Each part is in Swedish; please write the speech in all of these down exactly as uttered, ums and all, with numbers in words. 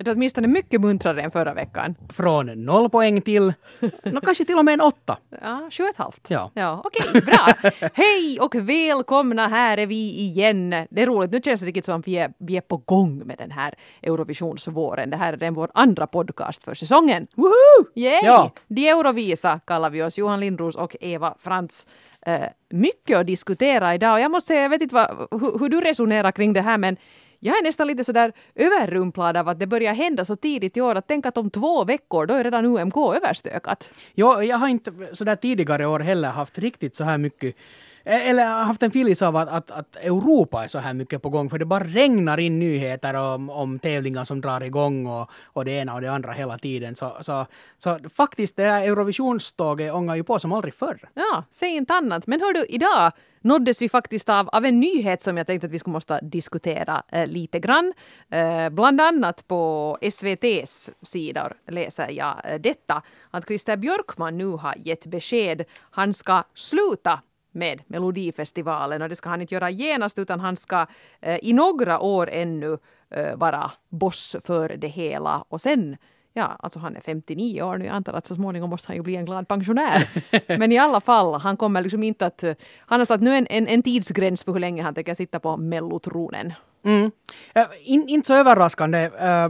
Det är åtminstone mycket muntrare än förra veckan. Från noll poäng till, no, kanske till och med en åtta. Ja, sju och ett halvt. Ja. Ja, okej, bra. Hej och välkomna, här är vi igen. Det är roligt, nu känns det riktigt som att vi är, vi är på gång med den här Eurovisionsvåren. Det här är den vår andra podcast för säsongen. Woohoo! Yay! Ja. De Eurovisa kallar vi oss, Johan Lindros och Eva Frans. Uh, mycket att diskutera idag och jag måste säga, jag vet inte vad, hur, hur du resonerar kring det här, men jag är nästan lite sådär överrumplad av att det börjar hända så tidigt i år att tänka att om två veckor då är redan U M K överstökat. Jo, jag har inte sådär tidigare år heller haft riktigt så här mycket, eller haft en filis av att, att, att Europa är så här mycket på gång, för det bara regnar in nyheter om, om tävlingar som drar igång och, och det ena och det andra hela tiden. Så, så, så faktiskt det här Eurovisionståget ångar ju på som aldrig förr. Ja, säg inte annat. Men hör du, idag nåddes vi faktiskt av, av en nyhet som jag tänkte att vi skulle måste diskutera eh, lite grann. Eh, bland annat på S V T:s sidor läser jag eh, detta, att Christer Björkman nu har gett besked. Han ska sluta med Melodifestivalen och det ska han inte göra genast, utan han ska eh, i några år ännu eh, vara boss för det hela och sen, ja, alltså han är femtionio år nu, jag antar att så småningom måste han ju bli en glad pensionär. Men i alla fall, han kommer liksom inte att, han har satt nu en, en, en tidsgräns för hur länge han tänker sitta på mellotronen. Mm. Uh, in, inte så överraskande.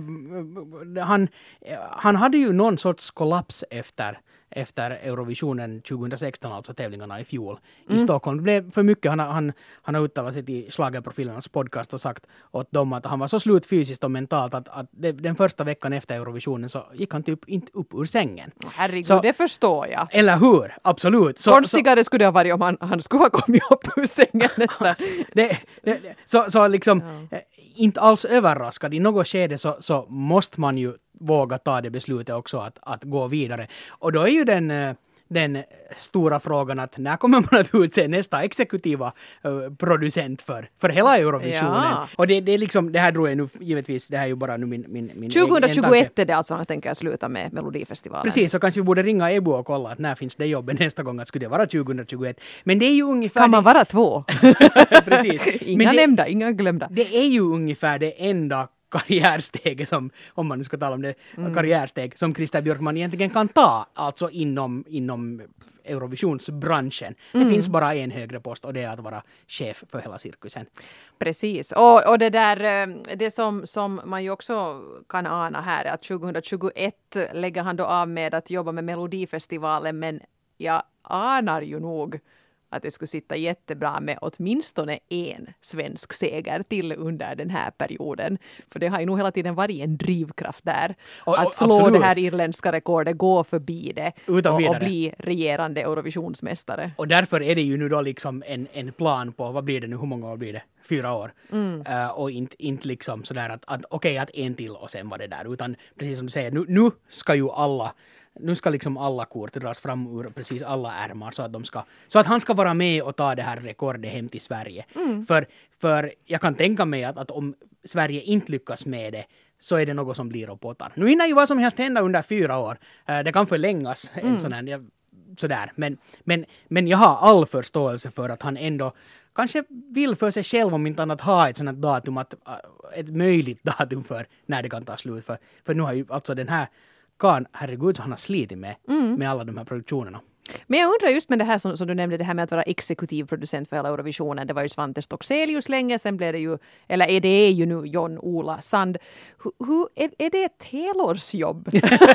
Uh, han, uh, han hade ju någon sorts kollaps efter efter Eurovisionen tjugohundrasexton, alltså tävlingarna i fjol mm. i Stockholm. Det blev för mycket. Han, han, han har uttalat sig till Schlagerprofilernas podcast och sagt åt dem att han var så slut fysiskt och mentalt att, att det, den första veckan efter Eurovisionen så gick han typ inte upp ur sängen. Herregud, så, det förstår jag. Eller hur? Absolut. Så, Konstigare så, skulle det ha varit om han, han skulle ha kommit upp ur sängen nästan. det, det, så, så liksom ja. Inte alls överraskad. I något skede så, så måste man ju våga ta det beslutet också att, att gå vidare. Och då är ju den, den stora frågan att när kommer man att utse nästa exekutiva uh, producent för, för hela Eurovisionen. Ja. Och det, det är liksom, det här tror jag nu givetvis, det här är ju bara nu min, min, min tjugohundratjugoett är det alltså han tänker sluta med Melodifestivalen. Precis, så kanske vi borde ringa Ebo och kolla att när finns det jobben nästa gång, att skulle det vara tjugohundratjugoett. Men det är ju ungefär... Kan man vara två? Precis. Inga Men det, nämnda, inga glömda. Det är ju ungefär det enda karriärsteg som, om man nu ska tala om det, mm. karriärsteg som Christer Björkman egentligen kan ta, alltså inom, inom Eurovisionsbranschen. Mm. Det finns bara en högre post och det är att vara chef för hela cirkusen. Precis, och, och det där, det som, som man ju också kan ana här är att tjugohundratjugoett lägger han då av med att jobba med Melodifestivalen, men jag anar ju nog att det skulle sitta jättebra med åtminstone en svensk seger till under den här perioden. För det har ju nog hela tiden varit en drivkraft där. Och, att slå absolut. Det här irländska rekordet, gå förbi det och, och bli regerande Eurovisionsmästare. Och därför är det ju nu då liksom en, en plan på, vad blir det nu, hur många år blir det? Fyra år. Mm. Uh, och inte, inte liksom sådär att, att okej, okay, att en till och sen var det där. Utan precis som du säger, nu, nu ska ju alla Nu ska liksom alla kort dras fram ur precis alla ärmar så att de ska, så att han ska vara med och ta det här rekordet hem till Sverige. Mm. För, för jag kan tänka mig att, att om Sverige inte lyckas med det så är det något som blir och pottar. Nu hinner ju vad som helst hända under fyra år. Uh, det kan förlängas en mm. sån här, jag, sådär. Men, men, men jag har all förståelse för att han ändå kanske vill för sig själv om inte annat ha ett sådant datum, att, uh, ett möjligt datum för när det kan ta slut. För, för nu har ju alltså den här kan, herregud, så han har slitit med, mm. med alla de här produktionerna. Men jag undrar just med det här som, som du nämnde, det här med att vara exekutiv producent för hela Eurovisionen. Det var ju Svante Stockselius länge, sen blev det ju, eller är det ju nu John-Ola Sand. Hur, hur, är, är det ett helårsjobb?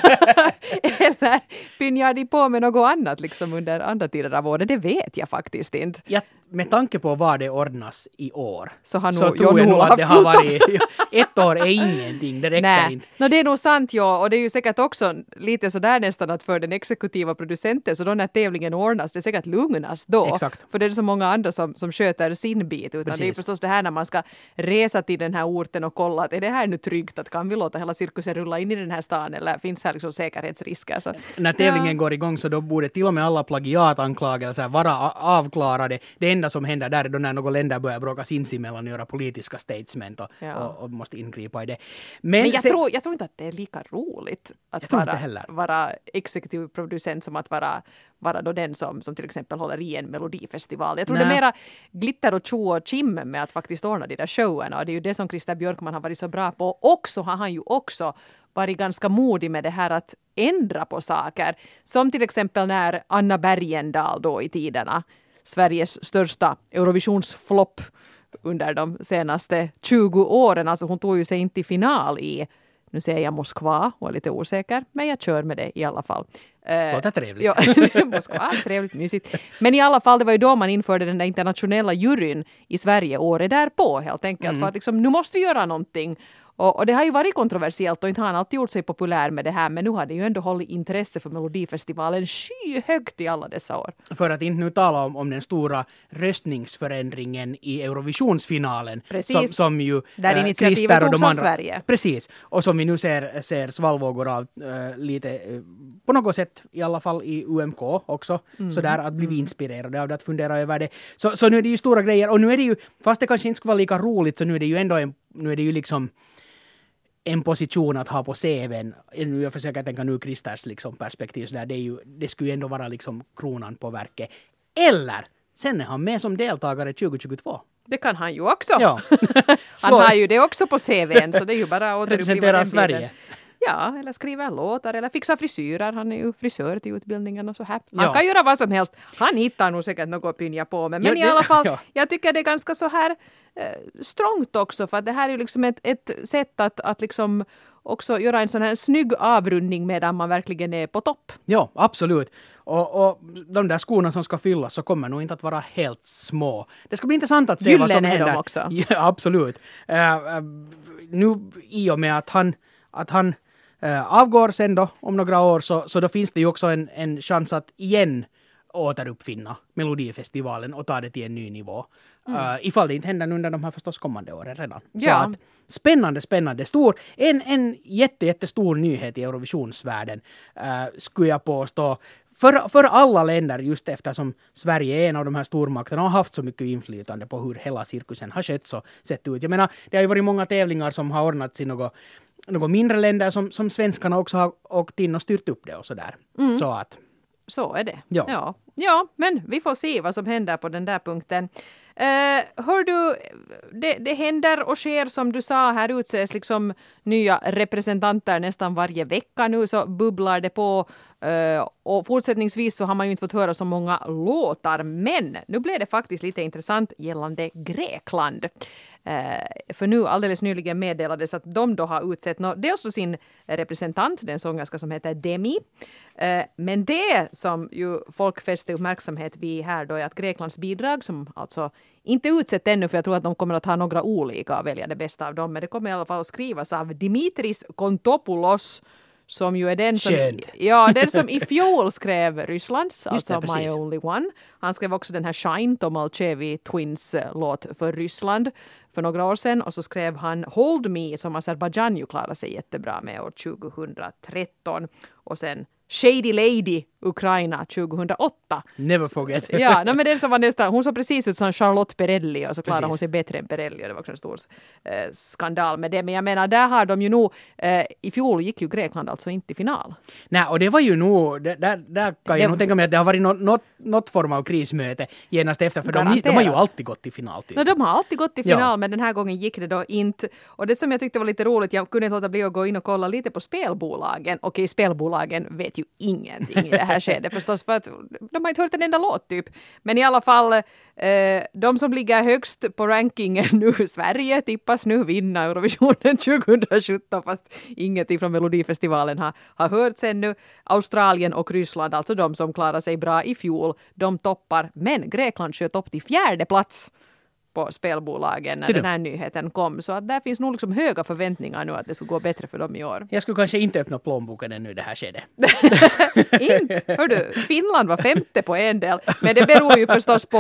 Eller pinjar de på med något annat liksom under andra tider av året? Det vet jag faktiskt inte. Ja, med tanke på vad det ordnas i år så, har så tror jag nog att det har varit ett år är ingenting, det räcker Nej. inte. No, det är nog sant, ja, och det är ju säkert också lite sådär nästan att för den exekutiva producenten så då när tävlingen ordnas, det är säkert lugnas då. Exakt. För det är så många andra som, som sköter sin bit, utan Precis. Det är förstås det här när man ska resa till den här orten och kolla att är det här nu tryggt, att kan vi låta hela cirkusen rulla in i den här stan eller finns här liksom säkerhetsrisker? Så, när tävlingen ja. går igång så då borde till och med alla plagiatanklagelser vara avklarade. Det enda som händer där är då när några länder börjar bråka sinsemellan och göra politiska statement och, Ja. och, och måste ingripa i det. Men, Men jag, sen, tror, jag tror inte att det är lika roligt Jag att tror inte vara, heller. vara exekutiv producent som att vara, vara då den som, som till exempel håller i en melodifestival. Jag tror Nej. det är mera glitter och tjo och kim med att faktiskt ordna de där showerna. Och det är ju det som Christer Björkman har varit så bra på. Och så har han ju också varit ganska modig med det här att ändra på saker. Som till exempel när Anna Bergendahl då i tiderna, Sveriges största Eurovisionsflopp under de senaste tjugo åren. Alltså hon tog ju sig inte i final i, nu säger jag Moskva och är lite osäker, men jag kör med det i alla fall. Låter trevligt. Ja, Moskva, trevligt, mysigt. Men i alla fall, det var ju då man införde den där internationella juryn i Sverige året därpå helt enkelt. Mm. För att liksom, nu måste vi göra någonting. Och, och det har ju varit kontroversiellt och inte har han alltid gjort sig populär med det här. Men nu har det ju ändå hållit intresse för Melodifestivalen skyhögt i alla dessa år. För att inte nu tala om, om den stora röstningsförändringen i Eurovisionsfinalen. Precis. Som, som ju Där äh, initiativet Christer och togs de av andra, Sverige. Precis. Och som vi nu ser, ser svallvågor av äh, lite äh, på något sätt i alla fall i U M K också. Mm. Så där att bli mm. inspirerade av det, att fundera över det. Så, så nu är det ju stora grejer. Och nu är det ju, fast det kanske inte skulle vara lika roligt, så nu är det ju ändå en, nu är det ju liksom en position att ha på C V:n. Nu jag försöker tänka nu Christers liksom perspektiv så där, det är ju, det skulle ju ändå vara liksom kronan på verket. Eller sen är han med som deltagare tjugo tjugotvå. Det kan han ju också. Ja. Han har ju det också på C V:n, så det är ju bara att återuppliva representera den Sverige. bilden. Ja, eller skriva låtar eller fixa frisyrer. Han är ju frisör till utbildningen och så här. Han Ja. kan göra vad som helst. Han hittar nog säkert något att pynja på med. Men Ja, i det- alla fall, ja. jag tycker det är ganska så här eh, strångt också. För att det här är ju liksom ett, ett sätt att, att liksom också göra en sån här snygg avrundning medan man verkligen är på topp. Ja, absolut. Och, och de där skorna som ska fyllas så kommer nog inte att vara helt små. Det ska bli intressant att se vad som Gyllene är de händer. också. Ja, absolut. Uh, uh, nu i och med att han, att han uh, avgår sen då om några år så, så då finns det ju också en, en chans att igen återuppfinna Melodifestivalen och ta det till en ny nivå. Mm. Uh, ifall det inte händer under de här förstås kommande åren redan. Ja. Så att, spännande, spännande. Stor, en, en jätte, jättestor nyhet i Eurovisionsvärlden uh, skulle jag påstå. För, för alla länder, just eftersom Sverige är en av de här stormakterna och har haft så mycket inflytande på hur hela cirkusen har skett så sett ut. Jag menar, det har ju varit många tävlingar som har ordnats i något, något mindre länder som, som svenskarna också har åkt in och styrt upp det och sådär. Mm. Så att... Så är det. Ja. Ja. Ja, men vi får se vad som händer på den där punkten. Uh, hör du, det, det händer och sker som du sa, här utses liksom nya representanter nästan varje vecka nu, så bubblar det på. Uh, och fortsättningsvis så har man ju inte fått höra så många låtar, men nu blev det faktiskt lite intressant gällande Grekland. Uh, för nu alldeles nyligen meddelades att de då har utsett no, dels sin representant, den sångerska som heter Demi. Uh, men det som ju folk fäste uppmärksamhet vid här då är att Greklands bidrag, som alltså inte utsett ännu, för jag tror att de kommer att ha några olika och välja det bästa av dem, men det kommer i alla fall att skrivas av Dimitris Kontopoulos, som ju är den som, ja, den som i fjol skrev Rysslands, alltså det, My Only One. Han skrev också den här Shine, Tom Alchevi Twins låt för Ryssland för några år sedan. Och så skrev han Hold Me, som Azerbaijan ju klarade sig jättebra med år tjugohundratretton. Och sen Shady Lady, Ukraina, tjugohundraåtta. Never forget. Ja, no, men den som var nästan, hon såg precis ut som Charlotte Perrelli och så klarade Precis. hon sig bättre än Perrelli och det var också en stor eh, skandal med det. Men jag menar, där har de ju nog, eh, i fjol gick ju Grekland alltså inte i final. Nej, och det var ju nog, där, där, där kan jag Det- nog tänka mig att det har varit något, något, något form av krismöte genast efter, för de, de Garanterat. har ju alltid gått till final. Typ. No, de har alltid gått i final, Ja. men den här gången gick det då inte. Och det som jag tyckte var lite roligt, jag kunde inte låta bli att gå in och kolla lite på spelbolagen. Okej, spelbolagen vet ju ingenting i det här skedet förstås, för att de har inte hört en enda låt typ. Men i alla fall, eh, de som ligger högst på rankingen nu, Sverige, tippas nu vinna Eurovisionen tjugohundrasjutton, fast ingenting från Melodifestivalen har, har hörts ännu. Australien och Ryssland, alltså de som klarar sig bra i fjol, de toppar. Men Grekland sköt upp till fjärde plats på spelbolagen när Ser du? den här nyheten kom. Så att där finns nog liksom höga förväntningar nu att det ska gå bättre för dem i år. Jag skulle kanske inte öppna plånboken ännu i det här skedet. Inte. Hör du, Finland var femte på en del. Men det beror ju förstås på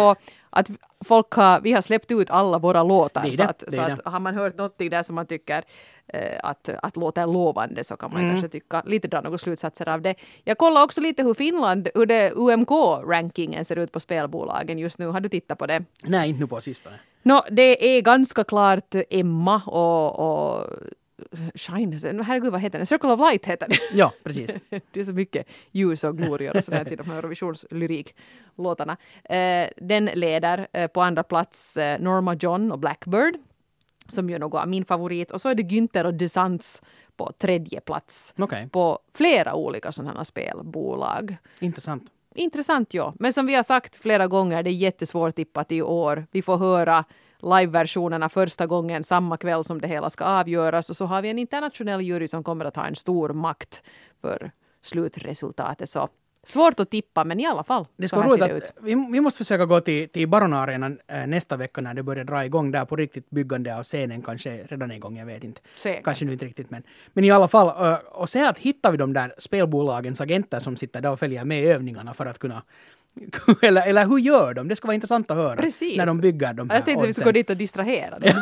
att folk har, vi har släppt ut alla våra låtar. Det är det, så att, det är så det. att har man hört någonting där som man tycker eh, att, att låter lovande så kan man Mm. kanske tycka lite dra några slutsatser av det. Jag kollar också lite hur Finland, hur det U M K-rankingen ser ut på spelbolagen just nu. Har du tittat på det? Nej, inte nu på sistone. No, det är ganska klart Emma och, och Shine, herregud vad heter den? Circle of Light heter den. Ja, precis. Det är så mycket ljus och glorior och sådär till de här Eurovisionslyriklåtarna. Eh, den leder eh, på andra plats eh, Norma John och Blackbird, som ju något av min favorit. Och så är det Günther och Desants på tredje plats. Okej, På flera olika sådana spelbolag. intressant. Intressant, ja. Men som vi har sagt flera gånger, det är jättesvårt tippat i år. Vi får höra live-versionerna första gången samma kväll som det hela ska avgöras. Och så har vi en internationell jury som kommer att ha en stor makt för slutresultatet. Så svårt att tippa, men i alla fall. Det så ska här roligt ser det att ut. vi, vi måste försöka gå till, till Baronarenan äh, nästa vecka när det börjar dra igång där på riktigt byggande av scenen, kanske redan igång, jag vet inte. Säkert. Kanske nu inte riktigt, men, men i alla fall, äh, och se att hittar vi de där spelbolagens agenter som sitter där och följer med i övningarna för att kunna eller, eller hur gör de? Det ska vara intressant att höra. Precis. När de bygger de här Jag tänkte att vi skulle oddsen. gå dit och distrahera dem.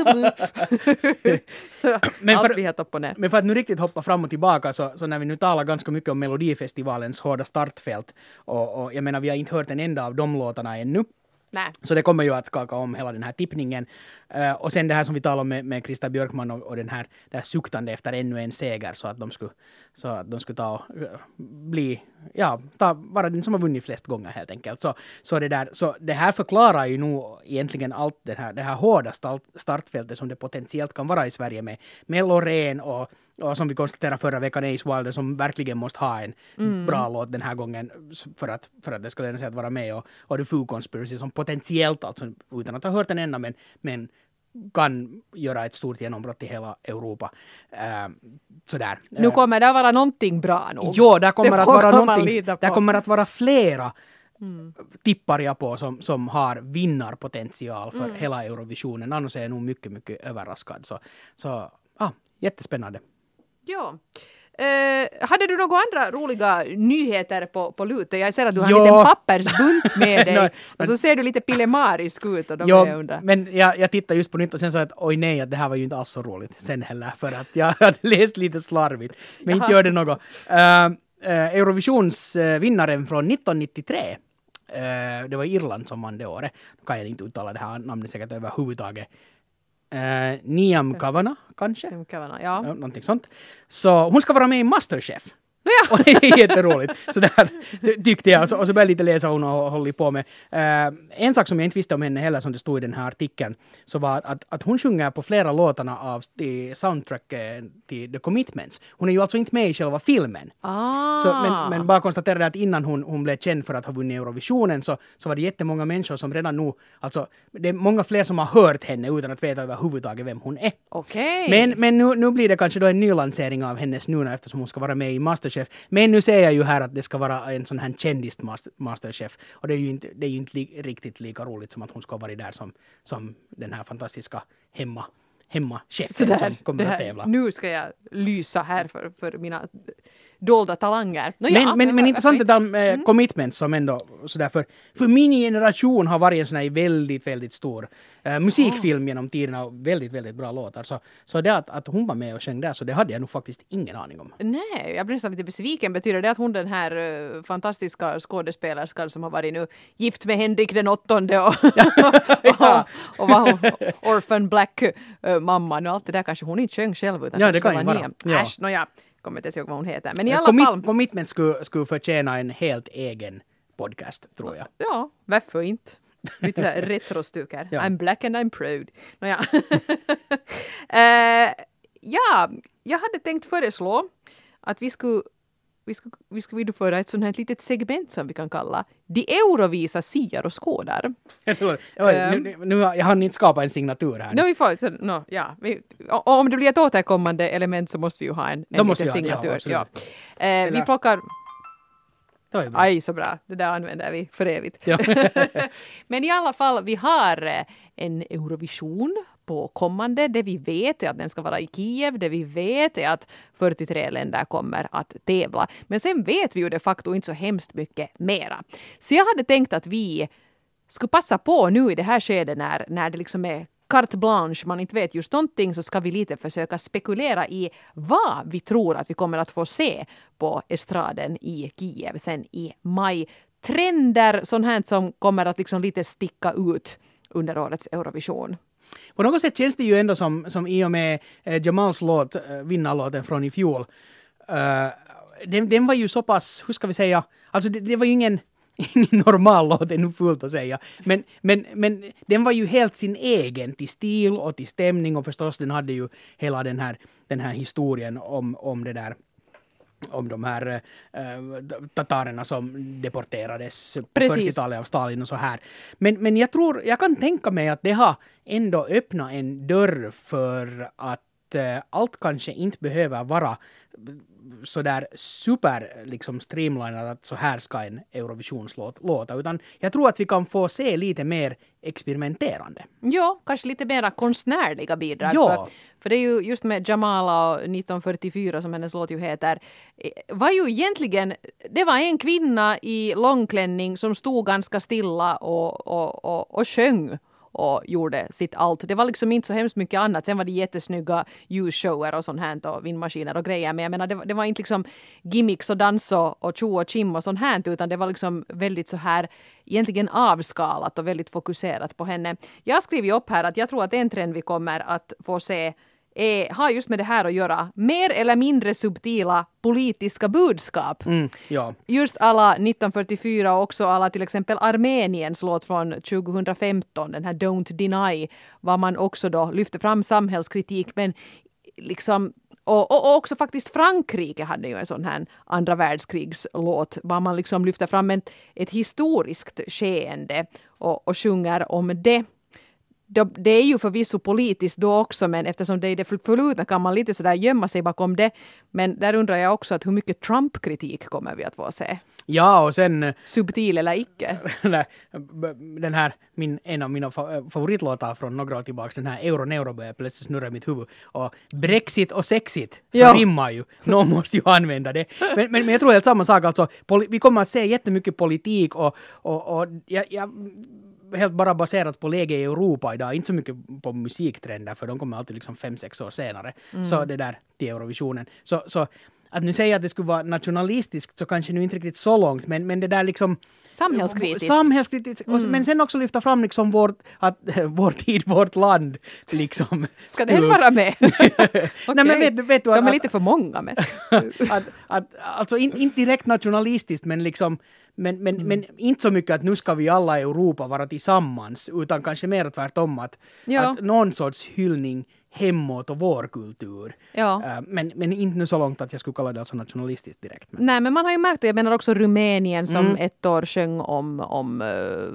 Men Allt för- blir helt upp och ner. Men för att nu riktigt hoppa fram och tillbaka så, så när vi nu talar ganska mycket om Melodifestivalens hårda startfält och, och jag menar vi har inte hört en enda av de låtarna ännu. Nej. Så det kommer ju att skaka om hela den här tippningen. Uh, och sen det här som vi talade om med, med Krista Björkman och, och den här, det här suktande efter ännu en seger så att de skulle, så att de skulle ta och uh, bli, ja, ta, vara den som har vunnit flest gånger helt enkelt. Så, så, det, där, så det här förklarar ju nog egentligen allt det här, det här hårda start, startfältet som det potentiellt kan vara i Sverige med, med Loreen och och som vi konstaterade förra veckan, Ace Wilder som verkligen måste ha en Mm. bra låt den här gången för att, för att det ska löna sig att vara med. Och, och The Foo Conspiracy som potentiellt, alltså utan att ha hört den ända, men, men kan göra ett stort genombrott i hela Europa. Uh, sådär. Nu kommer det att vara någonting bra nog. Jo, där kommer Det att vara vågar man någonting, lita på. där kommer att vara flera Mm. tippar jag på som, som har vinnarpotential för Mm. hela Eurovisionen. Annars är jag nog mycket, mycket överraskad. Så, så ah, jättespännande. Ja. Eh, hade du några andra roliga nyheter på, på lutet? Jag ser att du har en Ja. liten pappersbunt med dig. Nej, och så ser du lite pillemarisk ut. Och de är Ja, under. men jag, jag tittade just på nytt och sen sa jag att oj nej, att det här var ju inte alls så roligt sen heller för att jag hade läst lite slarvigt. Men inte Jaha. gör det något. Uh, uh, Eurovisionsvinnaren från nittonhundranittiotre, uh, det var Irland som vann det året. Då kan jag inte uttala det här namnet säkert överhuvudtaget. Uh, Niam Kavanagh kanske? Vem kan vara- Ja, Ja. någonting sånt. Så hon ska vara med i Masterchef. Ja. Och det är jätteroligt. Så där tyckte jag. Och så, och så började jag lite läsa hon och håller på med. Uh, en sak som jag inte visste om henne heller som det stod i den här artikeln så var att, att, att hon sjunger på flera låtarna av till soundtrack eh, till The Commitments. Hon är ju alltså inte med i själva filmen. Ah. Så, men, men bara konstaterade att innan hon, hon blev känd för att ha vunnit Eurovisionen så, så var det jättemånga människor som redan nu, alltså det är många fler som har hört henne utan att veta överhuvudtaget vem hon är. Okej. Men, men nu, nu blir det kanske då en ny lansering av hennes nu eftersom hon ska vara med i Masterchef. Men nu ser jag ju här att det ska vara en sån här kändis Masterchef. Och det är ju inte, det är ju inte li, riktigt lika roligt som att hon ska vara där som, som den här fantastiska hemma, hemmachefen Så där, som kommer det att här, tävla. nu ska jag lysa här för, för mina dolda talanger. Nå, Men, ja, men, men varför intressant inte? det där med Mm. commitment som ändå sådär för, för min generation har varit en sån här väldigt, väldigt stor eh, musikfilm genom tiderna och väldigt, väldigt bra låtar. Så, så det att, att hon var med och sjöng där så det hade jag nog faktiskt ingen aning om. Nej, jag blir nästan lite besviken. Betyder det att hon den här uh, fantastiska skådespelerskan som har varit nu gift med Henrik den åttonde och, Ja. och, och var hon orphan black uh, mamman och allt det där kanske hon inte sjöng själv utan Ja, det kanske kan var ju vara. Niam. Ja. Äsch, nåja, kommer inte ens ihåg vad hon heter. Men i alla Commit, fall, commitment skulle, skulle förtjäna en helt egen podcast, tror jag. ja, varför inte? Lite där retrostycker. Ja. I'm black and I'm proud. Nåja. uh, ja, jag hade tänkt föreslå att vi skulle vi skulle, vi skulle vidföra ett sånt här litet segment som vi kan kalla De Eurovisa siar och skådar. Oj, nu, nu, nu, jag hann inte skapa en signatur här. No, vi får, så, no, ja, vi, och, och om det blir ett återkommande element så måste vi ju ha en, Då en måste liten vi ha- ja, signatur. absolut. Ja. Eh, vi Eller- plockar... Det var ju bra. Aj, så bra. Det där använder vi för evigt. Ja. Men i alla fall, vi har eh, en Eurovision på kommande. Det vi vet är att den ska vara i Kiev. Det vi vet är att fyrtiotre länder kommer att tävla. Men sen vet vi ju de facto inte så hemskt mycket mera. Så jag hade tänkt att vi skulle passa på nu i det här skedet när, när det liksom är carte blanche, man inte vet just någonting, så ska vi lite försöka spekulera i vad vi tror att vi kommer att få se på estraden i Kiev sen i maj. Trender, sånt här som kommer att liksom lite sticka ut under årets Eurovision. På något sätt känns det ju ändå som, som i och med eh, Jamals låt, eh, vinnarlåten från i fjol. Uh, den, den var ju så pass, hur ska vi säga, alltså det, det var ju ingen, ingen normal låt, det är nog fullt att säga. Men, men, men den var ju helt sin egen till stil och till stämning, och förstås den hade ju hela den här, den här historien om, om det där, om de här äh, tatarerna som deporterades på Precis. fyrtiotalet av Stalin och så här. Men, men jag tror, jag kan tänka mig att det har ändå öppnat en dörr för att äh, allt kanske inte behöver vara så där super liksom streamlinat att så här ska en Eurovisionslåt låta, utan jag tror att vi kan få se lite mer experimenterande. Ja, kanske lite mera konstnärliga bidrag. Ja. För, för det är ju just med Jamala och nitton fyrtiofyra som hennes låt ju heter, var ju egentligen, det var en kvinna i långklänning som stod ganska stilla och, och, och, och sjöng och gjorde sitt allt. Det var liksom inte så hemskt mycket annat. Sen var det jättesnygga ljusshower och sånt här och vindmaskiner och grejer. Men jag menar, det, det var inte liksom gimmicks och dans och, och tjo och kim och sånt här, utan det var liksom väldigt så här egentligen avskalat och väldigt fokuserat på henne. Jag skriver ju upp här att jag tror att en trend vi kommer att få se är, har just med det här att göra, mer eller mindre subtila politiska budskap. Mm, ja. Just alla nitton fyrtiofyra och också alla till exempel Armeniens låt från tjugohundrafemton, den här Don't Deny, var man också då lyfte fram samhällskritik, men liksom och, och, och också faktiskt Frankrike hade ju en sån här andra världskrigslåt, var man liksom lyfter fram ett, ett historiskt skeende och, och sjunger om det. Det är ju förvisso politiskt då också, men eftersom det är det förflutna kan man lite sådär gömma sig bakom det. Men där undrar jag också att hur mycket Trump-kritik kommer vi att få se? Ja, och sen subtil eller icke? Den här, min, en av mina favoritlåtar från några år tillbaka, den här Euro-Neuro börjar plötsligt snurra i mitt huvud. Och Brexit och sexit, så ja. rimmar ju. Någon måste ju använda det. Men, men, men jag tror helt samma sak, alltså, poli- vi kommer att se jättemycket politik och, och, och jag, jag helt bara baserat på läge i Europa idag, inte så mycket på musiktrender, för de kommer alltid liksom fem, sex år senare. Mm. Så det där till Eurovisionen. Så, så att nu säga att det skulle vara nationalistiskt så kanske nu inte riktigt så långt, men, men det där liksom samhällskritiskt. Samhällskritiskt. Mm. Men sen också lyfta fram liksom vårt, att, vår tid, vårt land liksom. Ska den vara med? Okay. Nej, men vet, vet du, de att, är lite för många med. att, att, alltså in, inte direkt nationalistiskt, men liksom Men, men, mm. men inte så mycket att nu ska vi alla i Europa vara tillsammans, utan kanske mer tvärtom att, ja. att någon sorts hyllning hemåt och vår kultur. Ja. Uh, men, men inte nu så långt att jag skulle kalla det alltså nationalistiskt direkt. Men. Nej, men man har ju märkt, och jag menar också Rumänien som mm. ett år sjöng om, om uh,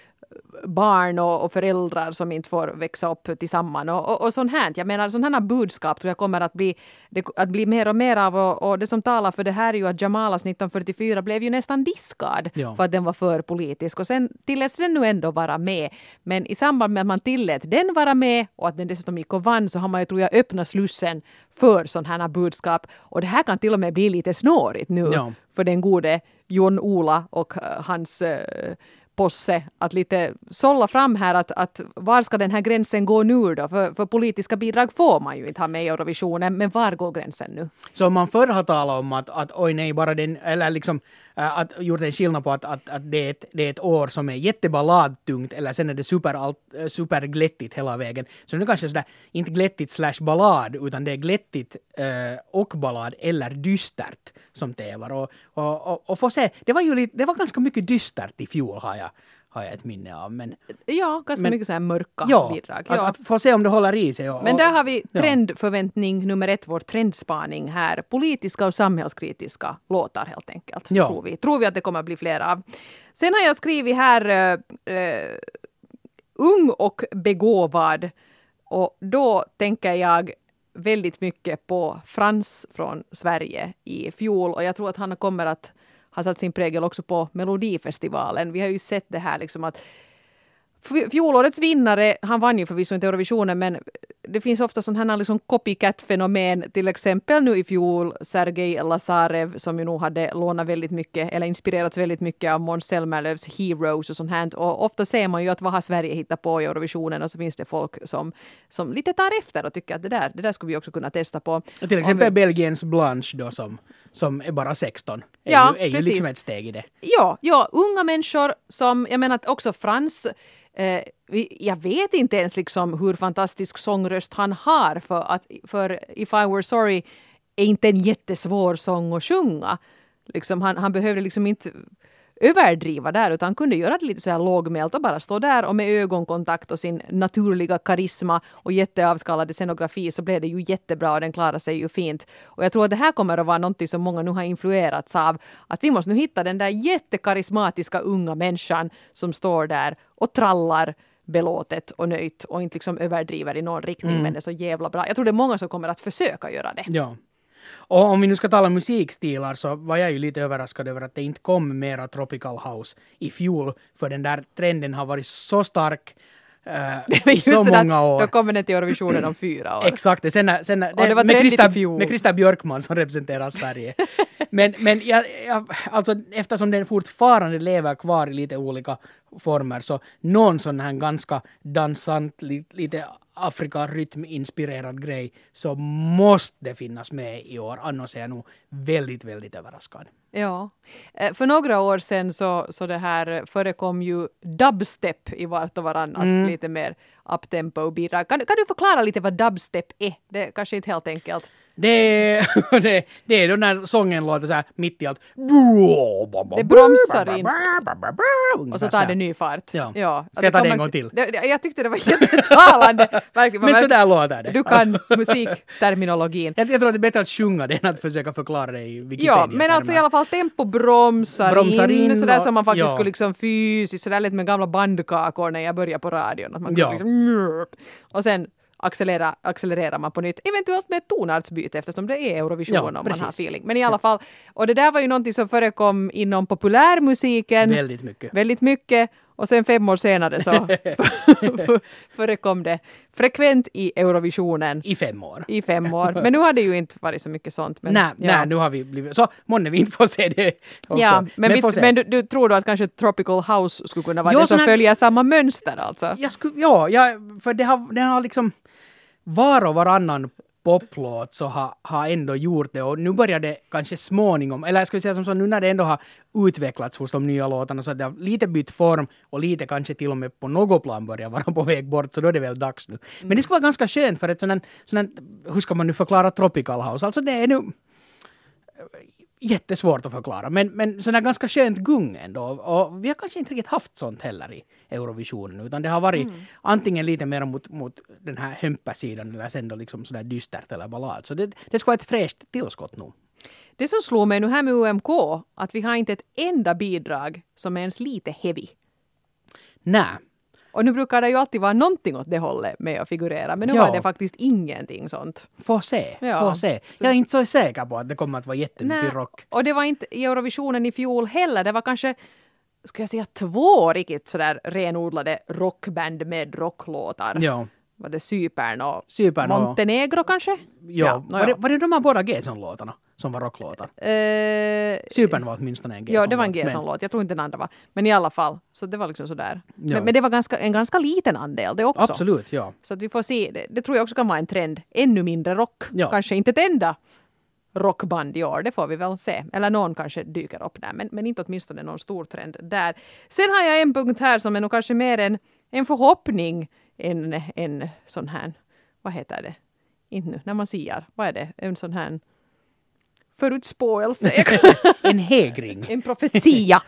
barn och, och föräldrar som inte får växa upp tillsammans och, och, och sånt här. Jag menar, sådana här budskap tror jag kommer att bli, det, att bli mer och mer av, och, och det som talar för det här är ju att Jamalas nitton fyrtiofyra blev ju nästan diskad ja. för att den var för politisk, och sen tilläts den nu ändå vara med. Men i samband med att man tillät den vara med och att den dessutom gick och vann, så har man ju, tror jag, öppnat slussen för sådana här budskap, och det här kan till och med bli lite snårigt nu ja. för den gode Jon Ola och uh, hans uh, posse att lite sålla fram här att, att var ska den här gränsen gå nu då? För, för politiska bidrag får man ju inte ha med i Eurovisionen, men var går gränsen nu? Så om man förr har talat om att, att oj nej, bara den, eller liksom äh, att gjort en skillnad på att, att, att det, är ett, det är ett år som är jätteballadtungt, eller sen är det super, alt, super glättigt hela vägen. Så nu kanske sådär, inte glättigt slash ballad, utan det är glättigt äh, och ballad eller dystert som tävlar. Och, och, och, och få se, det var ju lite, det var ganska mycket dystert i fjol har jag har jag ett minne av. Men, ja, ganska men, mycket så här mörka ja, bidrag. Ja, att, att få se om det håller i sig. Och, men där har vi trendförväntning nummer ett, vår trendspaning här. Politiska och samhällskritiska låtar helt enkelt. Ja. Tror vi. Tror vi att det kommer att bli fler av. Sen har jag skrivit här uh, uh, ung och begåvad. Och då tänker jag väldigt mycket på Frans från Sverige i fjol. Och jag tror att han kommer att har satt sin prägel också på Melodifestivalen. Vi har ju sett det här liksom att Fjolårets vinnare, han vann ju förvisso inte Eurovisionen, men det finns ofta sån här liksom copycat-fenomen, till exempel nu i fjol Sergej Lazarev som ju nog hade lånat väldigt mycket eller inspirerats väldigt mycket av Måns Zelmerlöws Heroes och sånt här. Och ofta ser man ju att vad har Sverige hittat på i Eurovisionen, och så finns det folk som, som lite tar efter och tycker att det där, det där skulle vi också kunna testa på. Och till exempel vi... Belgiens Blanche då som, som är bara sexton. Är ja, ju, är ju liksom ett steg i det. Ja, ja, unga människor som, jag menar också Frans, eh, jag vet inte ens liksom hur fantastisk sångröst han har, för att för If I Were Sorry är inte en jättesvår sång att sjunga. Liksom, han, han behövde liksom inte överdriva där, utan han kunde göra det lite så här lågmält och bara stå där, och med ögonkontakt och sin naturliga karisma och jätteavskalade scenografi så blev det ju jättebra, och den klarade sig ju fint. Och jag tror att det här kommer att vara något som många nu har influerats av, att vi måste nu hitta den där jättekarismatiska unga människan som står där och trallar belåtet och nöjt och inte liksom överdriver i någon riktning, mm. men det är så jävla bra. Jag tror det är många som kommer att försöka göra det. Ja. Och om vi nu ska tala musikstilar så var jag ju lite överraskad över att det inte kom mera Tropical House i fjol, för den där trenden har varit så stark uh, i så många år. Då kommer den till Eurovisionen om fyra år. Exakt, sen, sen, det, det var med, Christa, i fjol. med Christa Björkman som representerar Sverige. men men jag, jag, alltså, eftersom den fortfarande lever kvar i lite olika former, så någon sån här ganska dansant, lite, lite Afrika-rytm-inspirerad grej så måste det finnas med i år. Annars är jag nog väldigt, väldigt överraskad. Ja. För några år sedan så, så det här förekom ju dubstep i vart och varannat. Mm. Lite mer uptempo bidrag. Kan, kan du förklara lite vad dubstep är? Det är kanske inte helt enkelt. Det, det, det är då när sången låter så här mitt i allt. Det bromsar in. Och så tar det ny fart. Ja. Ja. Ska jag ta det en gång till? Det, jag tyckte det var jättetalande. Men så där låter det. Du kan alltså musikterminologin. Jag, jag tror att det är bättre att sjunga det än att försöka förklara det i Wikipedia. Ja, men alltså i alla fall tempo bromsar, bromsar in. in sådär och, som man faktiskt ja. skulle liksom fysiskt, sådär lite med gamla bandkakor när jag började på radion. Att man ja. liksom, och sen accelerera, accelererar man på nytt. Eventuellt med ett tonartsbyte eftersom det är Eurovision ja, om precis. man har feeling. Men i alla fall, och det där var ju någonting som förekom inom populärmusiken. Väldigt mycket. Väldigt mycket. Och sen fem år senare så förekom det frekvent i Eurovisionen. I fem år. I fem år. Men nu har det ju inte varit så mycket sånt. Men, nej, ja. nej, nu har vi blivit... Så månne vi inte får se det också. Ja, men, men, vi, men du, du tror då att kanske Tropical House skulle kunna vara jo, det som här, följer samma mönster alltså? Jag skulle, ja, jag, för det har, det har liksom var och varannan poplåt så har, har ändå gjort det, och nu börjar det kanske småningom, eller ska vi säga som så, nu när det ändå har utvecklats hos de nya låtarna så att det har lite bytt form och lite kanske till och med på något plan börjar vara på väg bort, så då är det väl dags nu. Men mm. det skulle vara ganska skönt för ett sådant, sådant, hur ska man nu förklara Tropical House? Alltså det är nu jättesvårt att förklara, men, men sådär ganska skönt gung ändå, och vi har kanske inte riktigt haft sånt heller i Eurovisionen, utan det har varit mm. antingen lite mer mot, mot den här hömpasidan eller sen då liksom sådär dystert eller ballad, så det, det ska vara ett fräscht tillskott nu. Det som slår mig nu här med U M K, att vi har inte ett enda bidrag som är ens lite heavy. Nej. Och nu brukar det ju alltid vara någonting åt det hållet med att figurera. Men nu ja. var det faktiskt ingenting sånt. Få se, ja. få se. Jag är inte så säker på att det kommer att vara jättemycket Nej. rock. Och det var inte i Eurovisionen i fjol heller. Det var kanske, ska jag säga, två riktigt sådär renodlade rockband med rocklåtar. Ja. Var det Cypern och Cypern och Montenegro kanske? Ja. ja. Var, det, var det de här båda G-son-låtarna som var rocklåtar? Uh, Cypern var åtminstone en G-son-låt. Ja, det var en G-son-låt. Jag tror inte den andra var. Men i alla fall. Så det var liksom sådär. Ja. Men, men det var ganska, en ganska liten andel det också. Absolut, ja. Så att vi får se. Det, det tror jag också kan vara en trend. Ännu mindre rock. Ja. Kanske inte ett enda rockband i år. Det får vi väl se. Eller någon kanske dyker upp där. Men, men inte åtminstone någon stor trend där. Sen har jag en punkt här som är nog kanske mer en, en förhoppning. En, en sån här, vad heter det? Inte nu, när man siar. Vad är det? En sån här förutspåelse. En hägring. En profetia.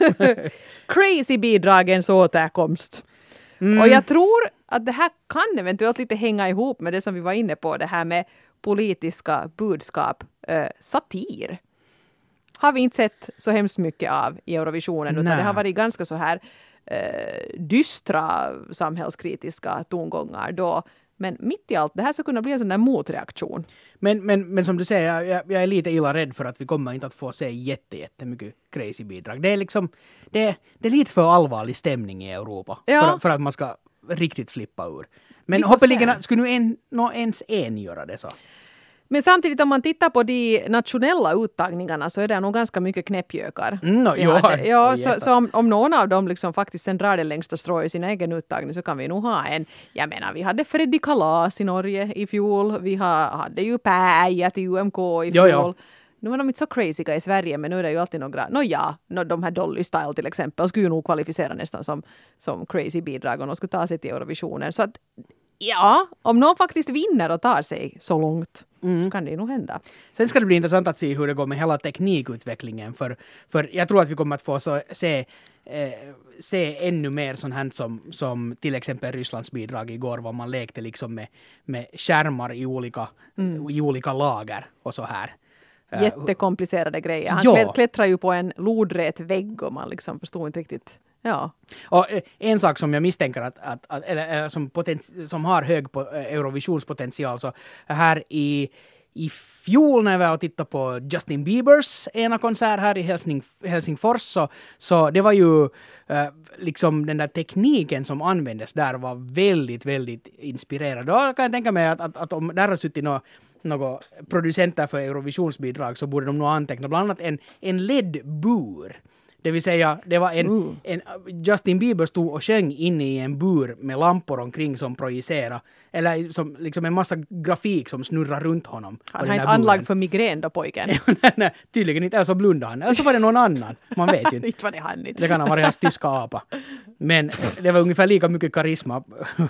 Crazy-bidragens återkomst. Mm. Och jag tror att det här kan eventuellt lite hänga ihop med det som vi var inne på. Det här med politiska budskap. Eh, satir. Har vi inte sett så hemskt mycket av i Eurovisionen. Utan det har varit ganska så här eh, dystra samhällskritiska tongångar. Då Men mitt i allt, det här ska kunna bli en sån där motreaktion. Men, men, men som du säger, jag, jag är lite illa rädd för att vi kommer inte att få se jätte, jättemycket crazy bidrag. Det är liksom, det, det är lite för allvarlig stämning i Europa. Ja. För, för att man ska riktigt flippa ur. Men Vi får hoppeligen se. skulle nu en, nå ens en göra det så. Men samtidigt om man tittar på de nationella uttagningarna så är det nog ganska mycket knäppjökar. Mm, no, Vi jo, hade- ja, oj, så, gästas. så om, om någon av dem liksom faktiskt sen drar det längsta strået i sin egen uttagning så kan vi nog ha en. Jag menar, vi hade Freddy Kalas i Norge i fjol. Vi ha, hade ju Päijät i U M K i Jo, fjol. jo. Nu var de inte så crazyga i Sverige, men nu är det ju alltid några. Nå ja, no, de här Dolly Style till exempel skulle ju nog kvalificera nästan som, som crazy bidrag om de skulle ta sig till Eurovisionen. Så att ja, om någon faktiskt vinner och tar sig så långt så kan det ju nog hända. Sen ska det bli intressant att se hur det går med hela teknikutvecklingen. För, för jag tror att vi kommer att få så, se, eh, se ännu mer sånt här som, som till exempel Rysslands bidrag igår, var man lekte liksom med, med skärmar i olika, i olika lager och så här. Eh, Jättekomplicerade grejer. Han Ja. klä- klättrar ju på en lodrät vägg och man liksom förstod inte riktigt. Ja. Och eh, en sak som jag misstänker att, att, att eller, eller som, poten- som har hög po- eh, Eurovisionspotential, så här i, i fjol när vi var och tittade på Justin Biebers ena konsert här i Helsing, Helsingfors, så, så det var ju eh, liksom den där tekniken som användes där var väldigt, väldigt inspirerad. Då kan jag tänka mig att, att, att om där har suttit några några producenter för Eurovisionsbidrag så borde de nog anteckna bland annat en, en L E D-bur. Det vill säga, det var en, Uh. en Justin Bieber stod och sjöng inne i en bur med lampor omkring som projicerar. Eller som liksom en massa grafik som snurrar runt honom. på Han den har där inte anlag buren. för migrän då, pojken. nej, nej, tydligen inte. Eller så blundade han. Eller så var det någon annan. Man vet ju inte. Inte var det han inte. Det kan ha varit hans tyska apa. Men det var ungefär lika mycket karisma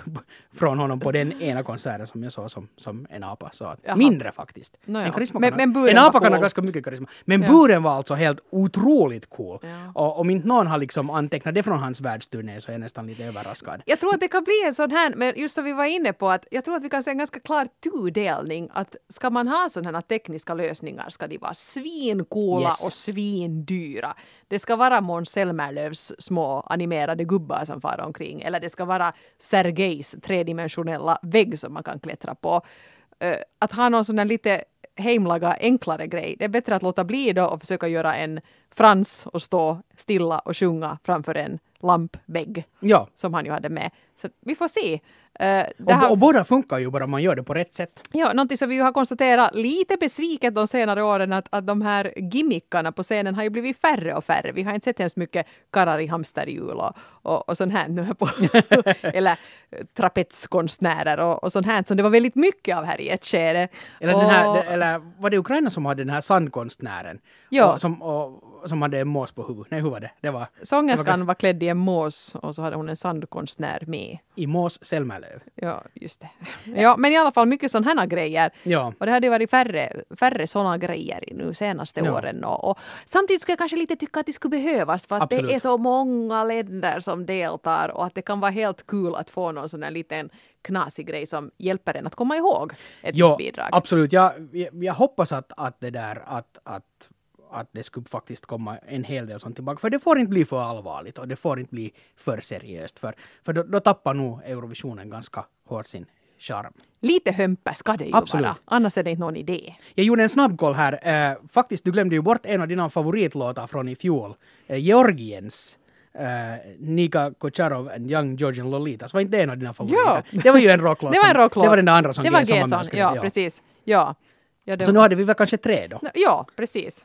från honom på den ena konserten som jag såg som, som en apa. Så att, Jaha. mindre faktiskt. Nå ja. En, karisma Men- kan ha- men buren en var apa kan ha cool. ganska mycket karisma. Men Ja. buren var alltså helt otroligt cool. Ja. Och om inte någon har liksom antecknat det från hans världsturné så är jag nästan lite överraskad. Jag tror att det kan bli en sån här, men just som vi var inne på, att jag tror att vi kan se en ganska klar tudelning. Att ska man ha sådana här tekniska lösningar ska de vara svincoola Yes. och svindyra. Det ska vara Måns Zelmerlöws små animerade gubbar som far omkring. Eller det ska vara Sergejs tredimensionella vägg som man kan klättra på. Uh, att ha någon sån här lite hemlaga enklare grej. Det är bättre att låta bli då och försöka göra en Frans och stå stilla och sjunga framför en lampvägg Ja. som han ju hade med. Så vi får se. Uh, det Och, här, och båda funkar ju bara man gör det på rätt sätt. ja, någonting som vi ju har konstaterat lite besviket de senare åren att, att de här gimmickarna på scenen har ju blivit färre och färre. Vi har inte sett ens mycket karrar i hamsterhjul och, och, och sånt här nu på eller eh, trapetskonstnärer och, och sånt här som det var väldigt mycket av här i ett skede. Eller, och, den här, eller var det Ukraina som hade den här sandkonstnären? Ja. Och, som, och, som hade en mås på huvudet. Nej, hur var det? Det var, sångerskan det var klädd i en mås och så hade hon en sandkonstnär med. i Mås Zelmerlöw. Ja, just det. Ja, men i alla fall mycket sådana här grejer. Ja. Och det hade varit färre, färre sådana grejer i nu senaste Ja. åren. Och, och samtidigt skulle jag kanske lite tycka att det skulle behövas för att Absolut. det är så många länder som deltar och att det kan vara helt kul att få någon sån här liten knasig grej som hjälper en att komma ihåg ett Ja, visst bidrag. absolut. Jag, jag, jag hoppas att, att det där att, att, att det skulle faktiskt komma en hel del sånt tillbaka. För det får inte bli för allvarligt och det får inte bli för seriöst. För, för då, då tappar nog Eurovisionen ganska hårt sin charm. Lite hömper ska det ju Absolut. vara. Annars är det inte någon idé. Jag gjorde en snabbkoll här. Eh, faktiskt, du glömde ju bort en av dina favoritlåtar från i fjol. Eh, Georgiens. Uh, Nika Kocharov and Young Georgian Lolitas. Var inte det en av dina favoriter? Ja. Det var ju en rocklåt. Det var en som- rocklåt. Det var den där andra som Det var G samman med G-son, skrev, ja, precis. Ja. Ja, det Så var- nu hade vi väl kanske tre då. Ja, precis.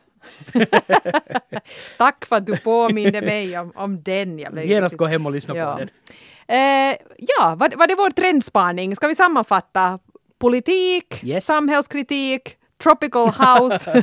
Tack för att du påminde mig om, om den. Jag blev Genast riktigt- gå hem och lyssna Ja. på den. Eh, ja, var, var det vår trendspaning? Ska vi sammanfatta? Politik, Yes. samhällskritik, tropical house,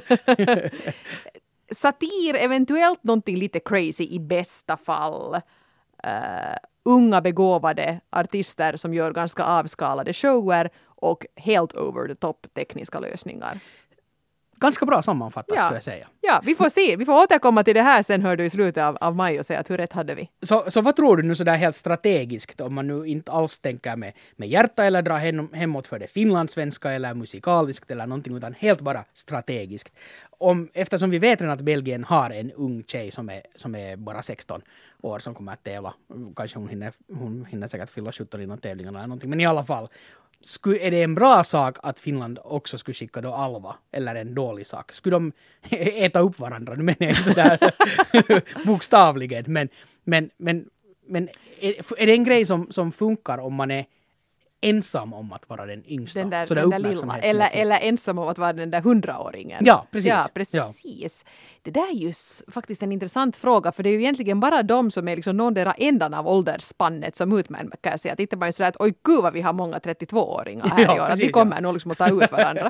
satir, eventuellt någonting lite crazy i bästa fall. Eh, unga begåvade artister som gör ganska avskalade shower och helt over the top tekniska lösningar. Ganska bra sammanfattat Ja. skulle jag säga. Ja, vi får se. Vi får återkomma till det här sen hör du i slutet av, av maj och säga att hur rätt hade vi. Så, så vad tror du nu sådär helt strategiskt om man nu inte alls tänker med, med hjärta eller drar hem, hemåt för det finlandssvenska eller musikaliskt eller någonting utan helt bara strategiskt. Om, eftersom vi vet redan att Belgien har en ung tjej som är, som är bara sexton år som kommer att tävla. Kanske hon hinner, hon hinner säkert fylla sjutton i någon tävling eller någonting men i alla fall. skulle, är det en bra sak att Finland också skulle skicka då Alva, eller en dålig sak? Skulle de äta upp varandra? Nu menar jag inte sådär bokstavligen, men, men, men, men är, är det en grej som, som funkar om man är ensam om att vara den yngsta? Den där, så den där lilla, eller, eller ensam om att vara den där hundraåringen. Ja, precis. Ja, precis. Ja. Det där är ju s- faktiskt en intressant fråga, för det är ju egentligen bara de som är liksom någondera ändan av åldersspannet som utmärker sig. Att inte bara är sådär att oj gud vad vi har många trettiotvååringar här Ja, i år, precis, att vi kommer ja. nog liksom att ta ut varandra.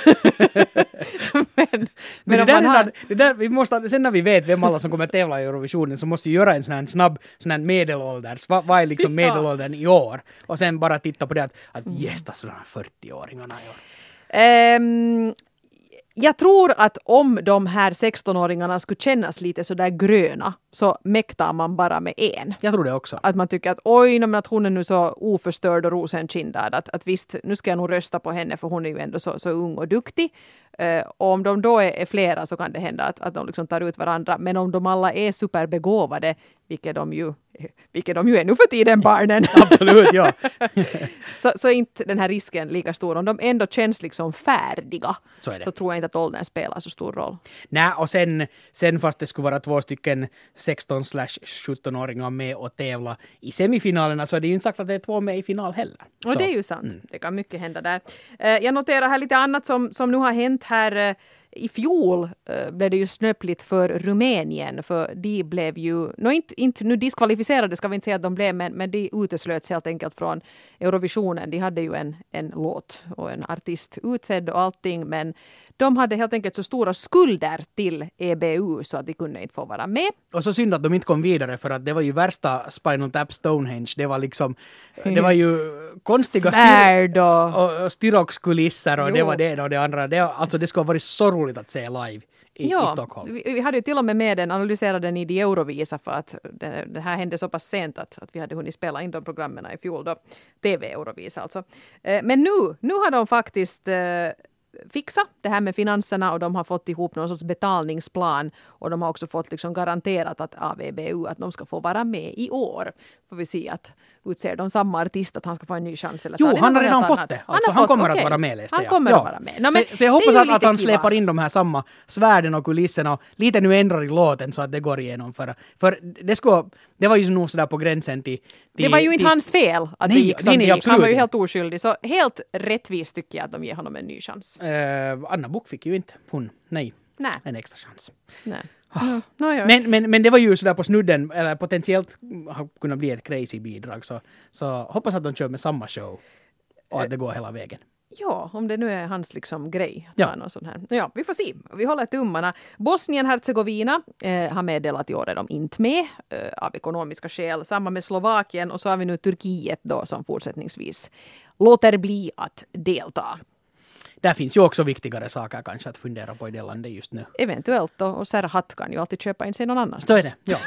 men Men men det om där, man är har... där, det där, vi måste, sen när vi vet vem alla som kommer tävla i Eurovisionen så måste vi göra en sån här snabb sån här medelålders. Vad, vad är liksom medelåldern i år? Och sen bara titta på det att, att gästa sådana fyrtioåringarna i år. Ehm, jag tror att om de här sextonåringarna skulle kännas lite så där gröna så mäktar man bara med en. Jag tror det också. Att man tycker att oj, men att hon är nu så oförstörd och rosenkindad. Att, att visst, nu ska jag nog rösta på henne för hon är ju ändå så, så ung och duktig. Uh, och om de då är, är flera så kan det hända att, att de liksom tar ut varandra. Men om de alla är superbegåvade, vilket de ju, vilket de ju är nu för tiden, barnen. Absolut, ja. så, så är inte den här risken lika stor. Om de ändå känns liksom färdiga Så är det. så tror jag inte att åldern spelar så stor roll. Nej, och sen, sen fast det skulle vara två stycken sexton sjutton-åringar med och tävla i semifinalerna så är det ju inte sagt att det är två med i final heller. Och Så. det är ju sant. Mm. Det kan mycket hända där. Uh, jag noterar här lite annat som, som nu har hänt här. Uh, I fjol uh, blev det ju snöpligt för Rumänien, för de blev ju, no, inte, inte nu diskvalificerade ska vi inte säga att de blev, men, men de uteslöts helt enkelt från Eurovisionen. De hade ju en, en låt och en artist utsedd och allting, men de hade helt enkelt så stora skulder till E B U så att de kunde inte få vara med. Och så synd att de inte kom vidare för att det var ju värsta Spinal Tap Stonehenge. Det var liksom, det var ju konstiga Svärd och... och, och styroxkulisser och Jo. det var det och det andra. Det, alltså det skulle ha varit så roligt att se live i, ja, i Stockholm. Vi, vi hade ju till och med med den, analyserade den i de Eurovisa för att det, det här hände så pass sent att, att vi hade hunnit spela in de programmen i fjol då. T V-Eurovisa alltså. Eh, men nu, nu har de faktiskt eh, fixa det här med finanserna och de har fått ihop någon sorts betalningsplan och de har också fått liksom garanterat att av E B U att de ska få vara med i år. Får vi se att utser de samma artist att han ska få en ny chans eller Jo, ta det han har något redan helt fått annat. det. Han Alltså, har han fått, kommer okej. att vara med, läste Han jag. kommer Ja. att vara med. No, men så, så jag hoppas det är att, ju att han lite släpar kiva. in de här samma svärden och kulisserna och lite nu ändrar i låten så att det går igenom. För, för det, skulle, det var ju nog sådär på gränsen till... till Det var ju inte till, hans fel att Nej, det gick som nej, nej, det gick. absolut Han var ju inte. helt oskyldig. Så helt rättvist tycker jag att de ger honom en ny chans. Uh, Anna Book fick ju inte hon, nej, Nej. en extra chans. Nej. No, no, ja. Men, men, men det var ju sådär på snudden, eller potentiellt har kunnat bli ett crazy bidrag. Så, så hoppas att de kör med samma show och att det går hela vägen. Ja, om det nu är hans liksom grej. Ja. Någon sån här. Ja, vi får se. Vi håller tummarna. Bosnien-Hercegovina eh, har meddelat i år är de inte med eh, av ekonomiska skäl. Samma med Slovakien och så har vi nu Turkiet då som fortsättningsvis låter bli att delta. Där finns ju också viktigare saker kanske att fundera på i det landet just nu. Eventuellt då, och Serhat kan ju alltid köpa in sig någon annanstans. Så är det, ja.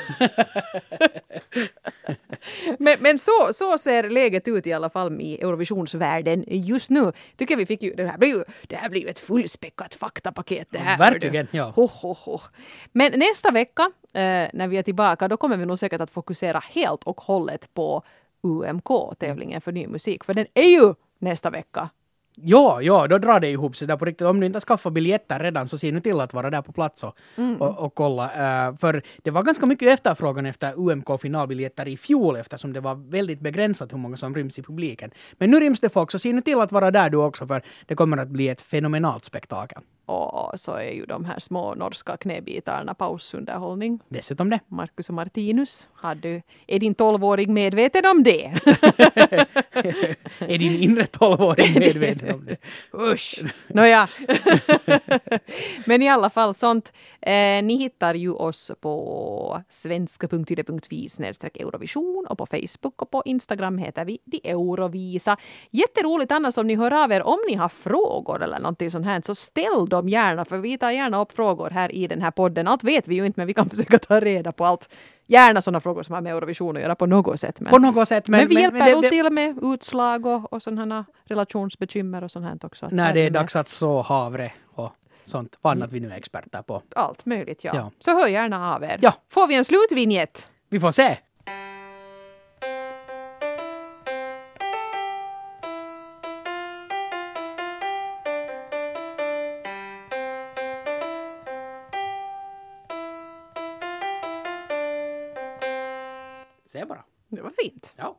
men men så, så ser läget ut i alla fall i Eurovisionsvärlden just nu. Tycker vi fick ju, det här blir ju, det här blir ju ett fullspäckat faktapaket det här. Verkligen, ja. Ho, ho, ho. Men nästa vecka, eh, när vi är tillbaka, då kommer vi nog säkert att fokusera helt och hållet på U M K, tävlingen för ny musik. För den är ju nästa vecka. Ja, ja, då drar det ihop sig där på riktigt. Om du inte har skaffat biljetter redan så ser nu till att vara där på plats och, Mm. och, och kolla. Uh, för det var ganska mycket efterfrågan efter U M K-finalbiljetter i fjol eftersom det var väldigt begränsat hur många som ryms i publiken. Men nu ryms det folk så se nu till att vara där du också för det kommer att bli ett fenomenalt spektakel. Och så är ju de här små norska knäbitarna pausunderhållning. Dessutom det. Marcus och Martinus, har du, är din tolvåring medveten om det? Är din inre tolvåring medveten om det? Usch! Nåja. Men i alla fall sånt. Eh, ni hittar ju oss på svenska punkt yle punkt fi snedstreck Eurovision och på Facebook och på Instagram heter vi De Eurovisa. Jätteroligt annars om ni hör av er. Om ni har frågor eller någonting sånt här så ställ dem gärna för vi tar gärna upp frågor här i den här podden. Allt vet vi ju inte men vi kan försöka ta reda på allt. Gärna sådana frågor som har med Eurovision att göra på något sätt. Men, På något sätt. Men, men vi men, hjälper men nog det, till med utslag och, och sådana relationsbekymmer och sånt här också. när det är med dags att så havre och sånt. Vad annat vi nu är experter på. allt möjligt, ja. Ja. Så hör gärna av er. Ja. Får vi en slutvinjett? Vi får se. Se bara. Det var fint. Ja.